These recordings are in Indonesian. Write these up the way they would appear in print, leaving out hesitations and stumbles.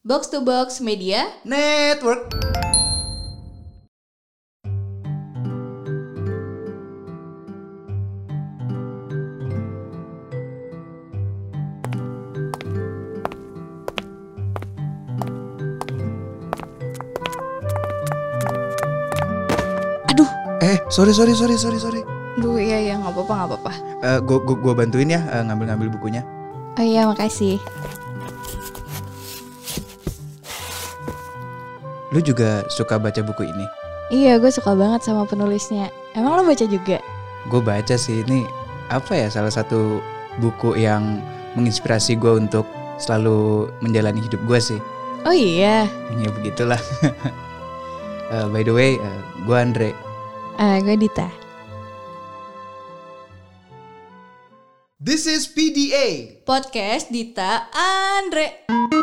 Box to Box Media Network. Aduh. Sorry. Duh, iya nggak apa-apa. Gue bantuin ya ngambil bukunya. Oh iya, makasih. Lu juga suka baca buku ini? Iya, gue suka banget sama penulisnya. Emang lo baca juga? Gue baca sih, ini apa ya, salah satu buku yang menginspirasi gue untuk selalu menjalani hidup gue sih. Oh iya. Ya begitulah. By the way, gue Andre. Gue Dita. This is PDA Podcast Dita Andre.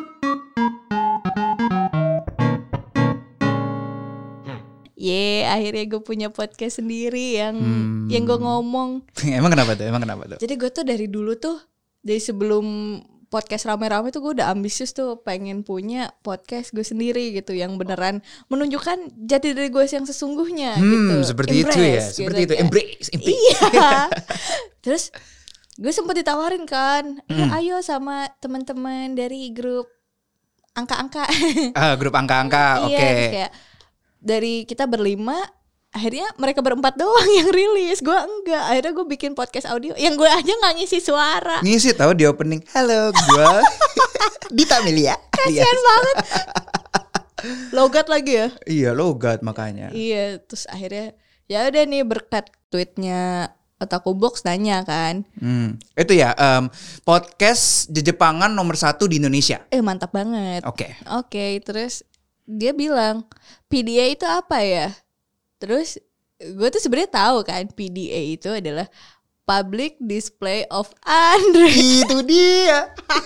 Akhirnya gue punya podcast sendiri yang gue ngomong. Emang kenapa tuh? Jadi gue tuh dari dulu tuh, dari sebelum podcast rame-rame tuh gue udah ambisius tuh pengen punya podcast gue sendiri gitu, yang beneran menunjukkan jati diri gue yang sesungguhnya gitu. Seperti Embrace, itu ya, gitu seperti itu. kan. Embrace. Iya. Terus gue sempet ditawarin kan, ayo sama teman-teman dari grup angka-angka. Grup angka-angka, oke. Iya, kayak dari kita berlima, akhirnya mereka berempat doang yang rilis, gue enggak. Akhirnya gue bikin podcast audio yang gue aja nggak ngisi suara. Ngisi tahu di opening. Halo, gue Dita Melia. Kasian banget. Logat lagi ya? Iya, logat makanya. Iya, terus akhirnya ya udah nih, berkat tweetnya Otaku Box nanya kan. Itu ya, podcast Jepangan nomor 1 di Indonesia. Mantap banget. Oke, terus dia bilang, PDA itu apa ya? Terus gue tuh sebenarnya tahu kan, PDA itu adalah Public Display of Andre. Itu dia.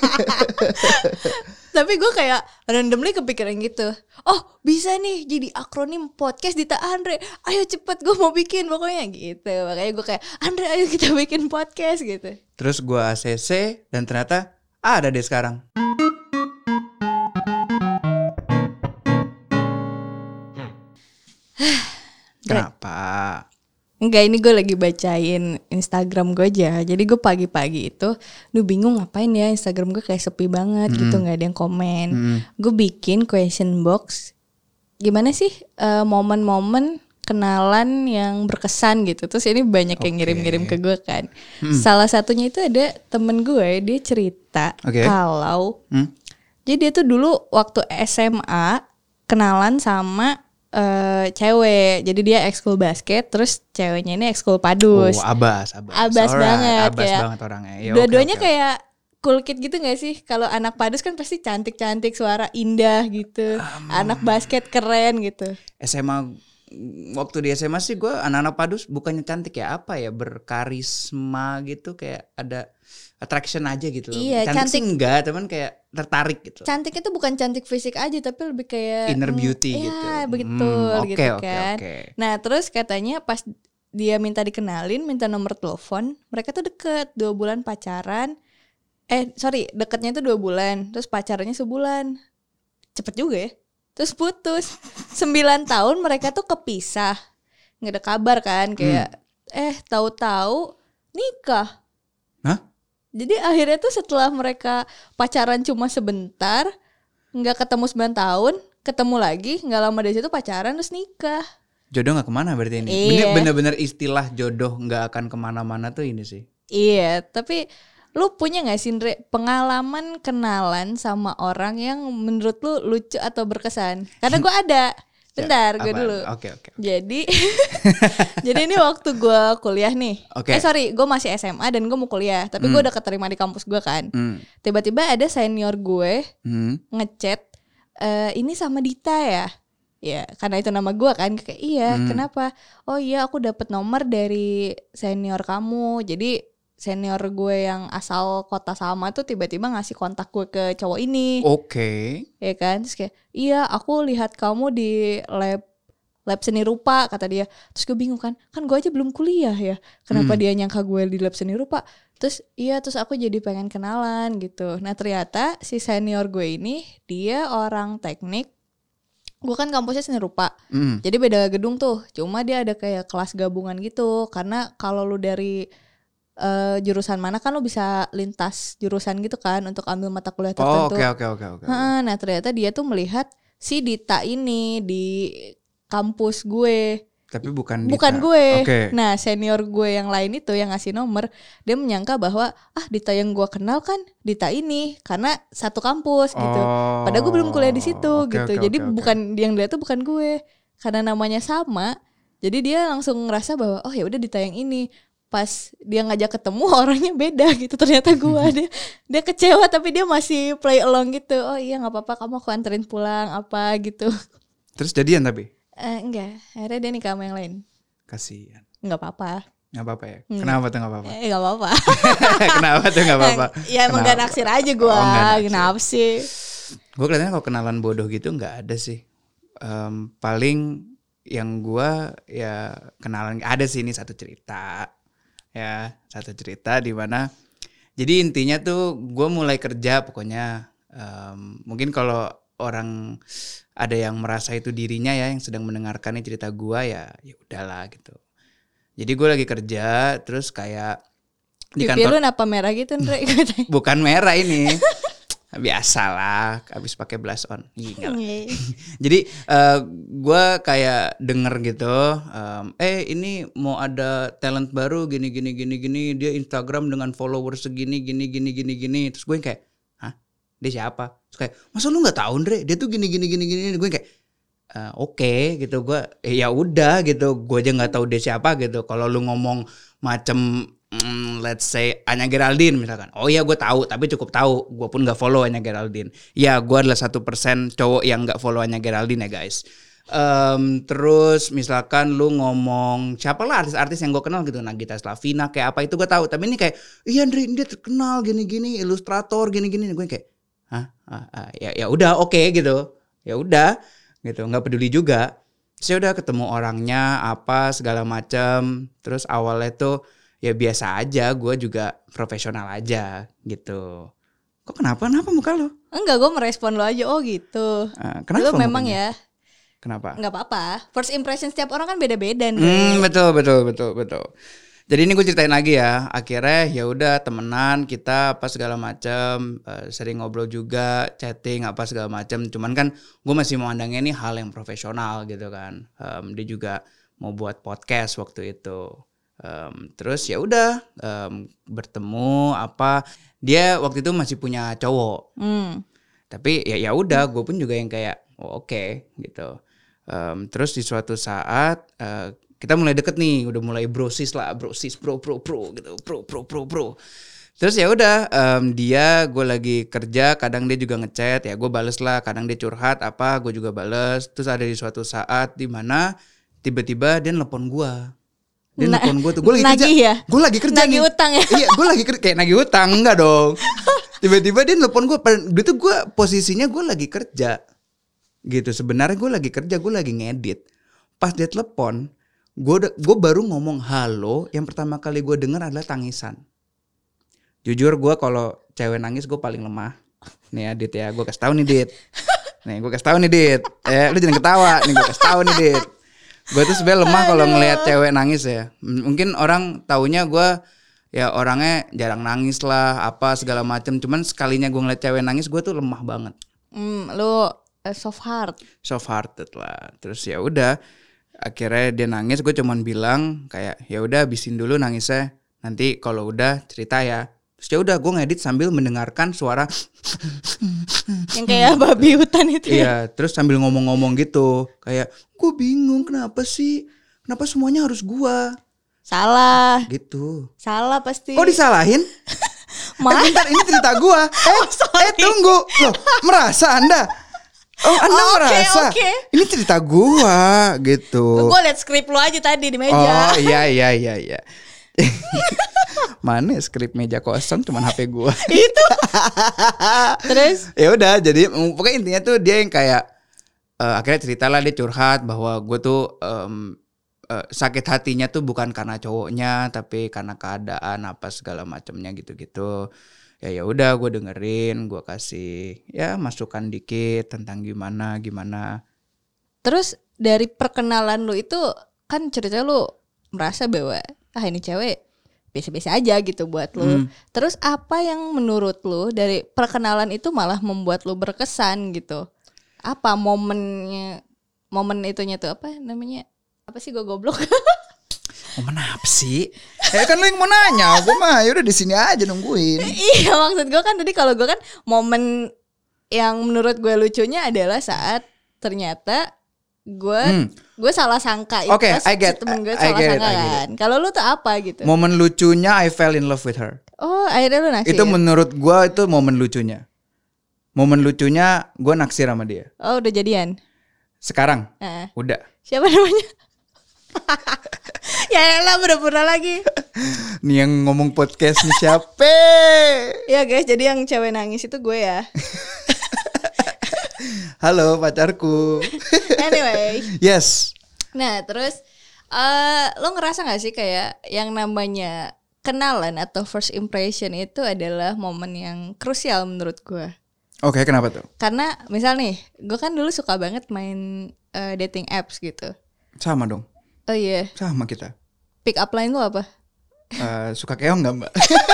Tapi gue kayak randomly kepikiran gitu. Oh, bisa nih jadi akronim podcast Dita Andre. Ayo cepet, gue mau bikin pokoknya gitu. Makanya gue kayak, Andre ayo kita bikin podcast gitu. Terus gue ACC dan ternyata ada deh sekarang. Kenapa? Enggak, ini gue lagi bacain Instagram gue aja. Jadi gue pagi-pagi itu bingung ngapain ya, Instagram gue kayak sepi banget gitu, gak ada yang komen. Gue bikin question box, gimana sih momen-momen kenalan yang berkesan gitu. Terus ini banyak yang ngirim-ngirim ke gue kan. Salah satunya itu ada temen gue, dia cerita kalau jadi dia tuh dulu waktu SMA kenalan sama cewek. Jadi dia ekskul basket, terus ceweknya ini ekskul padus. Abas banget. Abas ya. banget orangnya ya. Dua-duanya kayak cool kid gitu gak sih? Kalau anak padus kan pasti cantik-cantik, suara indah gitu. Anak basket keren gitu. Waktu di SMA sih gue anak-anak padus bukannya cantik ya, apa ya, berkarisma gitu, kayak ada attraction aja gitu loh. Iya, cantik sih enggak, teman kayak tertarik gitu. Cantik itu bukan cantik fisik aja, tapi lebih kayak inner beauty gitu. Iya, betul gitu kan. Oke. Nah, terus katanya pas dia minta dikenalin, minta nomor telepon, mereka tuh deket 2 bulan pacaran. Deketnya tuh 2 bulan, terus pacarannya sebulan. Cepet juga ya. Terus putus. 9 tahun mereka tuh kepisah. Nggak ada kabar kan, kayak tahu-tahu nikah. Hah? Jadi akhirnya tuh setelah mereka pacaran cuma sebentar, nggak ketemu 9 tahun, ketemu lagi, nggak lama dari situ pacaran terus nikah. Jodoh nggak kemana berarti ini? Iya. Bener-bener istilah jodoh nggak akan kemana-mana tuh ini sih. Iya, tapi lu punya nggak sih, Andre, pengalaman kenalan sama orang yang menurut lu lucu atau berkesan? Karena gue ada. Bentar, gue dulu. Oke. Jadi ini waktu gue kuliah nih. Gue masih SMA dan gue mau kuliah, tapi gue udah keterima di kampus gue kan. Tiba-tiba ada senior gue ngechat, ini sama Dita ya? Ya, karena itu nama gue kan. Kayak iya, kenapa? Oh iya, aku dapet nomor dari senior kamu. Jadi senior gue yang asal kota sama tuh tiba-tiba ngasih kontak gue ke cowok ini. Oke. Ya kan, terus kayak, iya aku lihat kamu di lab seni rupa, kata dia. Terus gue bingung kan gue aja belum kuliah ya, kenapa dia nyangka gue di lab seni rupa. Terus aku jadi pengen kenalan gitu. Nah ternyata si senior gue ini dia orang teknik. Gue kan kampusnya seni rupa, jadi beda gedung tuh. Cuma dia ada kayak kelas gabungan gitu. Karena kalau lu dari jurusan mana kan lu bisa lintas jurusan gitu kan untuk ambil mata kuliah tertentu. Oke. Nah ternyata dia tuh melihat si Dita ini di kampus gue. Tapi bukan gue. Okay. Nah senior gue yang lain itu yang ngasih nomor, dia menyangka bahwa Dita yang gue kenal kan Dita ini karena satu kampus gitu. Padahal gue belum kuliah di situ gitu. Jadi bukan yang dia tuh bukan gue. Karena namanya sama, jadi dia langsung ngerasa bahwa ya udah Dita yang ini. Pas dia ngajak ketemu orangnya beda gitu. Ternyata gue dia kecewa tapi dia masih play along gitu. Oh iya nggak apa-apa, kamu aku anterin pulang apa gitu. Terus jadian tapi? Enggak, akhirnya dia nikah sama yang lain. Kasian. Nggak apa-apa. Nggak apa-apa ya? Kenapa tuh nggak apa-apa? Nggak apa-apa. Kenapa tuh nggak apa-apa? Ya emang gak naksir aja gue. Kenapa sih? Gue kelihatannya kalau kenalan bodoh gitu nggak ada sih. Paling yang gue ya kenalan ada sih, ini satu cerita di mana. Jadi intinya tuh gue mulai kerja pokoknya. Mungkin kalau orang ada yang merasa itu dirinya ya yang sedang mendengarkan cerita gue ya udahlah gitu. Jadi gue lagi kerja terus kayak di kantor. Pipi lu kenapa merah gitu Ndre? Bukan merah ini. Biasalah habis pakai blush on. Jadi gue kayak denger gitu, ini mau ada talent baru gini dia Instagram dengan followers segini gini. Terus gue kayak dia siapa? Terus kayak masa lu nggak tahu Ndre dia tuh gini gue kayak oke gitu. Gue ya udah gitu, gue aja nggak tahu dia siapa gitu. Kalau lu ngomong macem let's say Anya Geraldine misalkan, oh iya gue tahu tapi cukup tahu, gue pun nggak follow Anya Geraldine. Ya gue adalah 1% cowok yang nggak follow Anya Geraldine ya guys. Terus misalkan lu ngomong siapa lah artis-artis yang gue kenal gitu, Nagita Slavina kayak apa itu gue tahu. Tapi ini kayak iya Andre dia terkenal gini ilustrator gini gue kayak ya udah oke gitu, ya udah gitu, nggak peduli juga. Saya udah ketemu orangnya apa segala macam. Terus awalnya tuh ya biasa aja, gue juga profesional aja gitu. Kok kenapa muka lu? Enggak, gue merespon lu aja gitu. Kenapa? Lu memang mukanya? Ya. Kenapa? Nggak apa-apa. First impression setiap orang kan beda-beda nih. Betul. Jadi ini gue ceritain lagi ya. Akhirnya ya udah temenan kita apa segala macam, sering ngobrol juga, chatting apa segala macam. Cuman kan gue masih memandangnya ini hal yang profesional gitu kan. Dia juga mau buat podcast waktu itu. Terus ya udah bertemu apa. Dia waktu itu masih punya cowok. Tapi ya udah, gue pun juga yang kayak oke gitu. Terus di suatu saat kita mulai deket nih, udah mulai bro gitu, bro. Terus ya udah, gue lagi kerja, kadang dia juga ngechat, ya gue bales lah, kadang dia curhat apa, gue juga bales. Terus ada di suatu saat di mana tiba-tiba dia nelpon gue. Dia nelpon gue tuh, gue lagi kerja. Ya? Gue lagi kerja nagih nih. Utang ya? Iya, gue lagi kerja, kayak nagih utang, enggak dong. Tiba-tiba dia nelpon gue, itu gue posisinya gue lagi kerja. Gitu, sebenarnya gue lagi kerja, gue lagi ngedit. Pas dia telepon, gue baru ngomong halo, yang pertama kali gue dengar adalah tangisan. Jujur gue kalau cewek nangis gue paling lemah. Nih ya Dit ya, gue kasih tahu nih Dit. Lu jangan ketawa, nih gue kasih tahu nih Dit. Gue tuh sebenarnya lemah kalau ngelihat cewek nangis ya. Mungkin orang taunya gue ya orangnya jarang nangis lah, apa segala macam. Cuman sekalinya gue ngeliat cewek nangis, gue tuh lemah banget. Lu soft hearted lah. Terus ya udah. Akhirnya dia nangis, gue cuman bilang kayak ya udah habisin dulu nangisnya, nanti kalau udah cerita ya. Terus ya udah gue ngedit sambil mendengarkan suara yang kayak babi hutan itu. Iya, terus sambil ngomong-ngomong gitu, kayak gue bingung kenapa semuanya harus gue. Salah. Gitu. Salah pasti. Kok disalahin? Bentar, ini cerita gue. Tunggu, loh merasa Anda? Anda merasa ini cerita gua gitu. Gua liat skrip lu aja tadi di meja. Oh iya. Mana skrip meja kosong, cuman HP gua. Itu. Terus? Ya udah, jadi pokoknya intinya tuh dia yang kayak akhirnya cerita lah, dia curhat bahwa gua tuh sakit hatinya tuh bukan karena cowoknya tapi karena keadaan apa segala macamnya gitu-gitu. Ya udah gue dengerin, gue kasih ya masukan dikit tentang gimana. Terus dari perkenalan lu itu kan cerita lu merasa bahwa ini cewek biasa-biasa aja gitu buat lu. Terus apa yang menurut lu dari perkenalan itu malah membuat lu berkesan gitu? Apa momen itunya tuh apa namanya? Apa sih, gue goblok? Momen apa sih? Kan lu yang mau nanya, gue mah yaudah di sini aja nungguin. Iya, maksud gue kan tadi kalau gue kan momen yang menurut gue lucunya adalah saat ternyata gue salah sangka itu. Okay, temen gue salah sangka kan. Kalau lu tuh apa gitu? Momen lucunya I fell in love with her. Oh, akhirnya lu naksir. Itu menurut gue itu momen lucunya. Momen lucunya gue naksir sama dia. Oh, udah jadian? Sekarang? Udah. Siapa namanya? Ya elah, pura-pura lagi. Nih yang ngomong podcast nih siapa? Ya guys, jadi yang cewek nangis itu gue ya. Halo pacarku. Anyway. Yes. Nah terus lo ngerasa gak sih kayak yang namanya kenalan atau first impression itu adalah momen yang krusial menurut gue. Oke, kenapa tuh? Karena misal nih, gue kan dulu suka banget main dating apps gitu. Sama dong. Oh iya. Sama kita. Pick up line lu apa? Suka keong nggak mbak?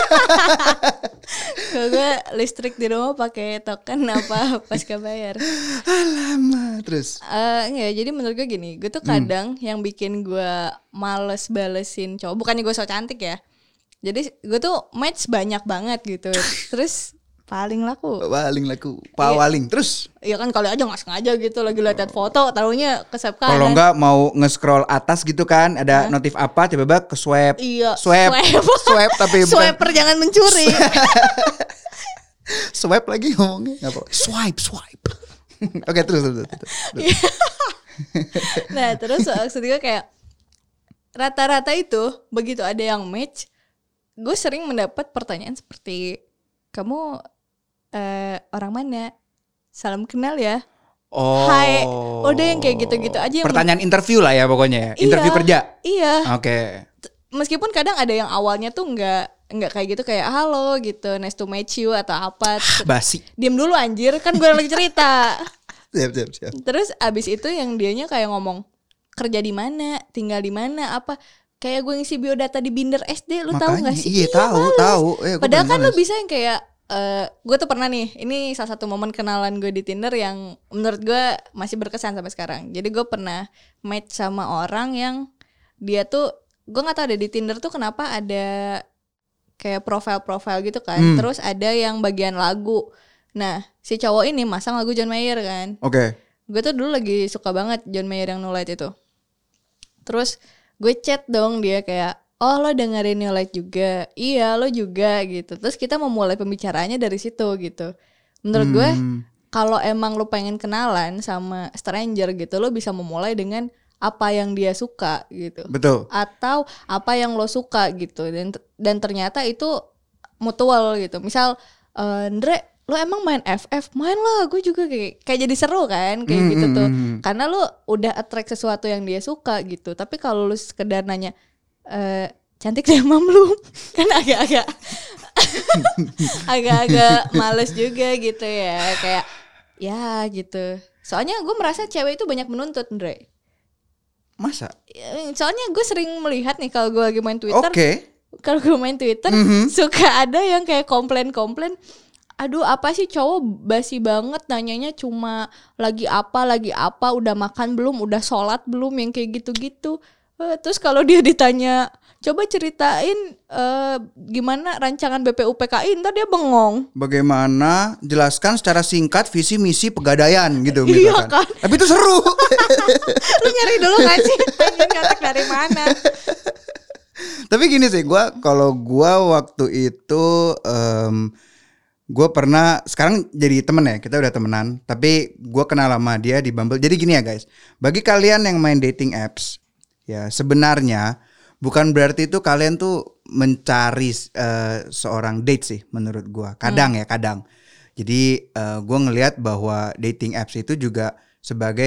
Kalau gue listrik di rumah pakai token apa pasca bayar. Alamak. Terus? Enggak, jadi menurut gue gini, gue tuh kadang yang bikin gue males balesin cowok, bukannya gue so cantik ya. Jadi gue tuh match banyak banget gitu. Terus paling laku. Pawaling. Terus? Iya kan kali aja gak sengaja gitu lagi liat foto, taruhnya ke swipe kanan. Kalau enggak mau nge-scroll atas gitu kan, ada notif apa, tiba-tiba ke swipe. Iya. Swipe tapi bukan. Swiper jangan mencuri. Swipe lagi ngomongnya. Apa? Swipe. Oke, terus. Nah, terus maksudnya kayak rata-rata itu begitu ada yang match, gue sering mendapat pertanyaan seperti, kamu orang mana? Salam kenal ya. Oh. Hai. Udah yang kayak gitu-gitu aja. Pertanyaan interview lah ya pokoknya ya. Interview kerja. Iya. Oke. Meskipun kadang ada yang awalnya tuh nggak kayak gitu, kayak halo gitu, nice to meet you atau apa. Basi. Diam dulu anjir, kan gue lagi cerita. Siap. Terus abis itu yang dianya kayak ngomong kerja di mana, tinggal di mana, apa. Kayak gue ngisi biodata di Binder SD, lu tahu nggak sih? Iya tahu. Padahal kan lu bisa yang kayak gue tuh pernah nih, ini salah satu momen kenalan gue di Tinder yang menurut gue masih berkesan sampai sekarang. Jadi gue pernah match sama orang yang dia tuh, gue nggak tahu deh di Tinder tuh kenapa ada kayak profile gitu kan. Terus ada yang bagian lagu. Nah si cowok ini masang lagu John Mayer kan. Oke. Gue tuh dulu lagi suka banget John Mayer yang No Light itu. Terus gue chat dong dia kayak, oh lo dengerin New Light juga, iya lo juga gitu. Terus kita memulai pembicaraannya dari situ gitu. Menurut gue kalau emang lo pengen kenalan sama stranger gitu, lo bisa memulai dengan apa yang dia suka gitu. Betul. Atau apa yang lo suka gitu. Dan ternyata itu mutual gitu. Misal, Andre, lo emang main FF? Main lah, gue juga kayak jadi seru kan kayak gitu tuh. Karena lo udah attract sesuatu yang dia suka gitu. Tapi kalau lo sekedar nanya, cantik deh mam lu, kan agak-agak males juga gitu ya, kayak ya gitu. Soalnya gue merasa cewek itu banyak menuntut, Andre. Masa? Soalnya gue sering melihat nih kalau gue lagi main Twitter. Kalau gue main Twitter suka ada yang kayak komplain. Aduh apa sih cowok basi banget nanyanya cuma lagi apa, udah makan belum, udah sholat belum, yang kayak gitu-gitu. Terus kalau dia ditanya, coba ceritain gimana rancangan BPUPKI, ntar dia bengong. Bagaimana jelaskan secara singkat visi misi pegadaian gitu misalkan. Iya kan? Tapi itu seru. Lu nyari dulu kan sih, nyatek dari mana? Tapi gini sih, kalau gue waktu itu gue pernah, sekarang jadi temen ya, kita udah temenan. Tapi gue kenal sama dia di Bumble. Jadi gini ya guys, bagi kalian yang main dating apps, ya sebenarnya bukan berarti itu kalian tuh mencari seorang date sih menurut gue. Kadang. Jadi gue ngelihat bahwa dating apps itu juga sebagai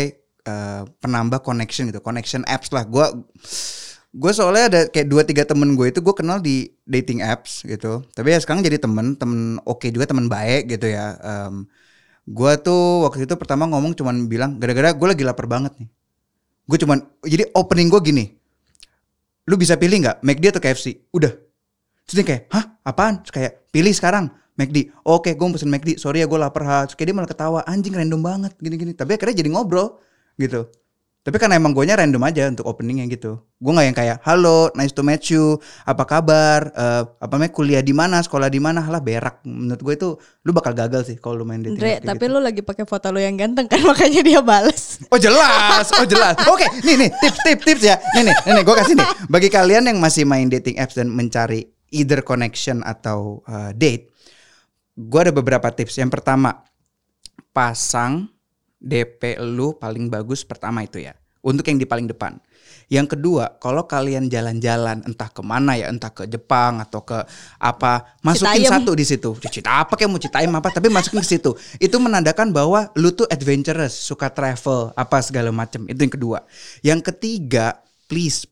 penambah connection gitu, connection apps lah. Gue soalnya ada kayak 2-3 temen gue itu gue kenal di dating apps gitu. Tapi ya sekarang jadi temen oke juga, temen baik gitu ya. Gue tuh waktu itu pertama ngomong cuman bilang gara-gara gue lagi lapar banget nih. Gue cuman, jadi opening gue gini, lu bisa pilih nggak McD atau KFC? Udah. Terus dia kayak, hah apaan? Terus kayak pilih sekarang McD. Oke, gue pesen McD. Sorry ya gue lapar. Terus kayak dia malah ketawa, anjing random banget gini-gini. Tapi akhirnya jadi ngobrol gitu. Tapi karena emang guanya random aja untuk openingnya gitu. Gue nggak yang kayak, halo, nice to meet you, apa kabar, kuliah di mana, sekolah di mana, lah berak. Menurut gue itu lu bakal gagal sih kalau lu main dating. Andre, tapi gitu. Lu lagi pakai foto lu yang ganteng kan, makanya dia balas. Oh jelas. Oke, nih tips ya. Nih gue kasih nih. Bagi kalian yang masih main dating apps dan mencari either connection atau date, gue ada beberapa tips. Yang pertama, pasang DP lu paling bagus pertama itu ya, untuk yang di paling depan. Yang kedua, kalau kalian jalan-jalan entah kemana ya, entah ke Jepang atau ke apa, masukin Citayam. Satu di situ. Cita apa kayak mau Citayam apa, tapi masukin ke situ. Itu menandakan bahwa lu tuh adventurous, suka travel, apa segala macam. Itu yang kedua. Yang ketiga, please.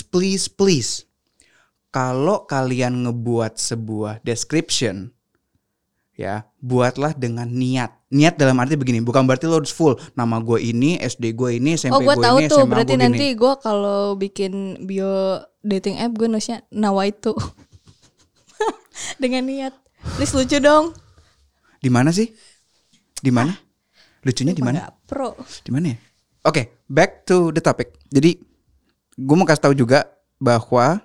Kalau kalian ngebuat sebuah description, ya, buatlah dengan niat. Niat dalam arti begini, bukan berarti lo harus full nama gue ini, SD gue ini, SMP gue ini, SMA gue ini. Oh, gue tahu tuh, berarti nanti gue kalau bikin bio dating app gue nulisnya nawaitu. Dengan niat. Please lucu dong. Di mana sih? Di mana? Lucunya di mana? Pro. Di mana ya? Oke, back to the topic. Jadi gue mau kasih tahu juga bahwa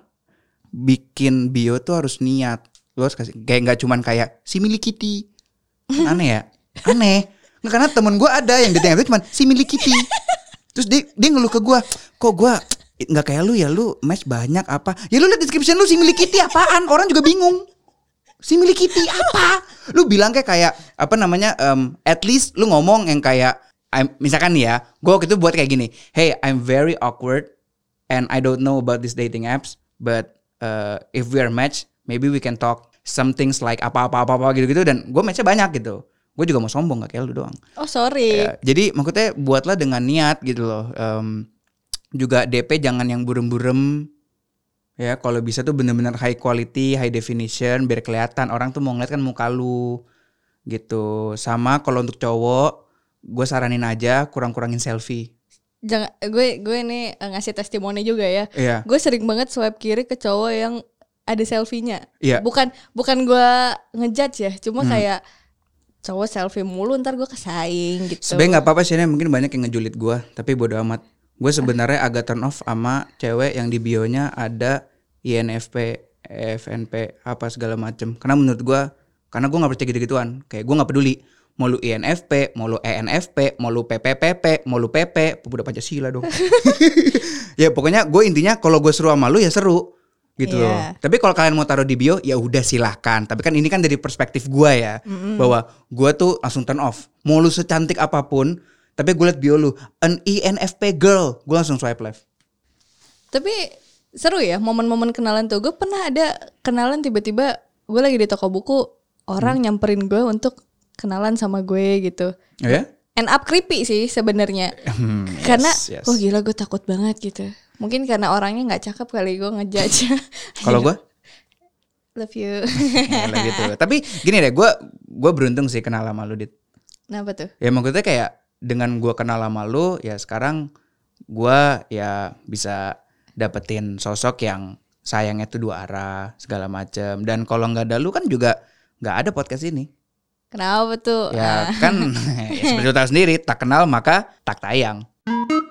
bikin bio tuh harus niat. Lu harus kasih kayak nggak cuman kayak si Milky Kitty. Aneh ya? Aneh. Nggak, karena temen gue ada yang dating app cuman si Milky Kitty. Terus dia ngeluh ke gue, kok gue nggak kayak lu ya, lu match banyak apa? Ya lu liat description lu si Milky Kitty apaan? Orang juga bingung. Si Milky Kitty apa? Lu bilang kayak apa namanya? At least lu ngomong yang kayak misalkan nih ya, gue waktu itu buat kayak gini. Hey, I'm very awkward and I don't know about these dating apps, but if we are matched, maybe we can talk some things like apa gitu-gitu, dan gue matchnya banyak gitu. Gue juga mau sombong gak kayak lu doang. Oh sorry. Ya, jadi maksudnya buatlah dengan niat gitu loh. Juga DP jangan yang burem-burem. Ya kalau bisa tuh benar-benar high quality, high definition, biar kelihatan orang tuh mau ngeliat kan muka lu gitu. Sama kalau untuk cowok, gue saranin aja kurang-kurangin selfie. Jangan, gue ini ngasih testimoni juga ya. Iya. Gue sering banget swipe kiri ke cowok yang ada selfie-nya. Iya. Bukan gue ngejudge ya, cuma kayak cowok selfie mulu ntar gue kesaing gitu. Sebenarnya nggak apa-apa sih, mungkin banyak yang ngejulit gue, tapi bodo amat. Gue sebenarnya agak turn off sama cewek yang di bionya ada INFP, FNP apa segala macem. Karena menurut gue, karena gue nggak percaya gitu-gituan. Kayak gue nggak peduli. Mau lu INFP, mau lu ENFP, mau lu PPPP, mau lu PP, udah Pancasila dong. Ya pokoknya gue intinya kalau gue seru sama lu ya seru. Gitu loh. Tapi kalau kalian mau taruh di bio ya udah silahkan. Tapi kan ini kan dari perspektif gue ya, bahwa gue tuh langsung turn off. Mau lu secantik apapun, tapi gue liat bio lu an INFP girl, gue langsung swipe left. Tapi seru ya momen-momen kenalan tuh. Gue pernah ada kenalan tiba-tiba gue lagi di toko buku, orang nyamperin gue untuk kenalan sama gue gitu. Oh ya? End up creepy sih sebenarnya. Karena oh gila gue takut banget gitu. Mungkin karena orangnya gak cakep kali, gue ngejudge. Kalau gue? Love you. Love you too. Tapi gini deh, gue beruntung sih kenal sama lu, Dit. Kenapa tuh? Ya maksudnya kayak dengan gue kenal sama lu, ya sekarang gue ya bisa dapetin sosok yang sayangnya tuh dua arah segala macem. Dan kalau gak ada lu kan juga gak ada podcast ini. Kenapa tuh? Ya kan ya seperti lu tahu sendiri, tak kenal maka tak tayang.